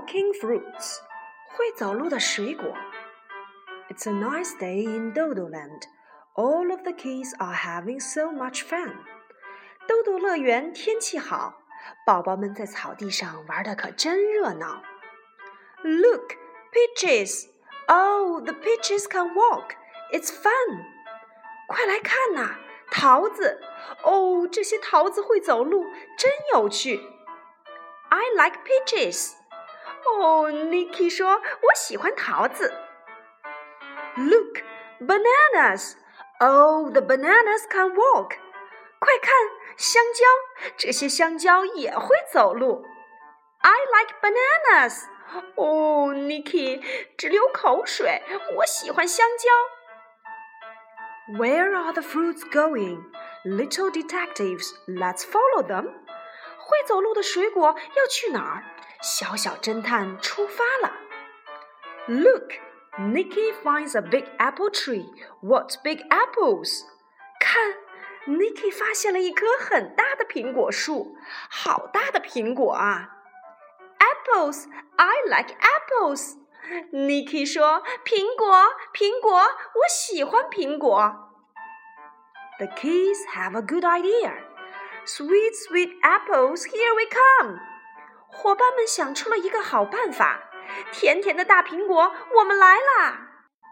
walking fruits. 会走路的水果。It's a nice day in Dodoland. All of the kids are having so much fun. 豆豆乐园天气好，宝宝们在草地上玩得可真热闹。Look, peaches! Oh, the peaches can walk. It's fun. 快来看呐，桃子！哦，这些桃子会走路，真有趣。I like peaches. 哦 Nicky 说，我喜欢桃子。Look, bananas! Oh, the bananas can walk. 快看，香蕉！这些香蕉也会走路。I like bananas. 哦 Nicky 直流口水，我喜欢香蕉。Where are the fruits going? Little detectives, let's follow them. 会走路的水果要去哪儿？小小侦探出发了。Look, Nicky finds a big apple tree. What big apples? 看 ，Nicky 发现了一棵很大的苹果树，好大的苹果啊 ！Apples, I like apples. Nicky 说：“苹果，苹果，我喜欢苹果。” The kids have a good idea. Sweet, sweet apples, here we come. 伙伴们想出了一个好办法，甜甜的大苹果，我们来啦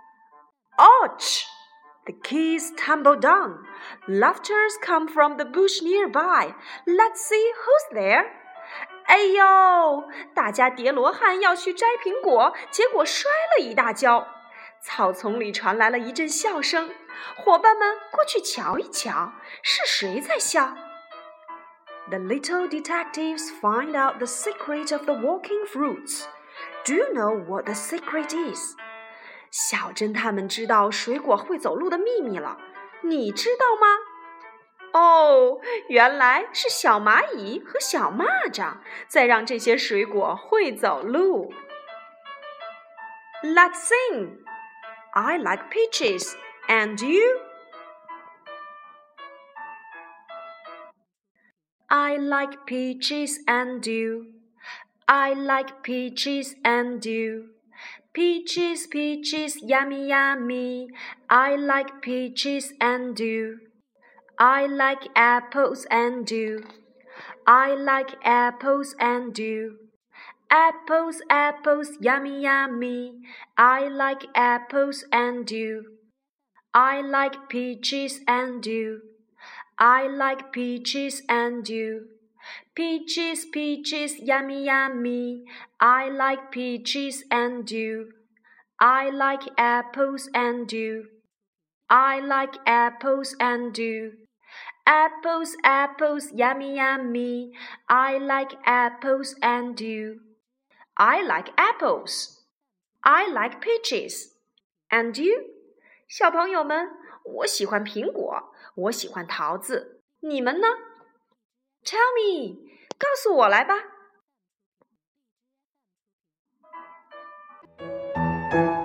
！Ouch! The kids tumble down. Laughters come from the bush nearby. Let's see who's there. 哎呦！大家叠罗汉要去摘苹果，结果摔了一大跤。草丛里传来了一阵笑声，伙伴们过去瞧一瞧，是谁在笑 ？The little detectives find out the secret of the walking fruits. Do you know what the secret is? 小侦探们知道水果会走路的秘密了，你知道吗？哦，原来是小蚂蚁和小蚂蚱在让这些水果会走路。Let's sing. I like peaches, and you? I like peaches and you. I like peaches and you. Peaches, peaches, yummy, yummy. I like peaches and you.I like apples and you. I like apples and you. Apples, apples, yummy, yummy. I like apples and you. I like peaches and you. I like peaches and you. Peaches, peaches, yummy, yummy. I like peaches and you. I like apples and you. I like apples and you.Apples, apples, yummy, yummy. I like apples and you. I like apples. I like peaches. And you? 小朋友们，我喜欢苹果，我喜欢桃子，你们呢 ？Tell me， 告诉我来吧。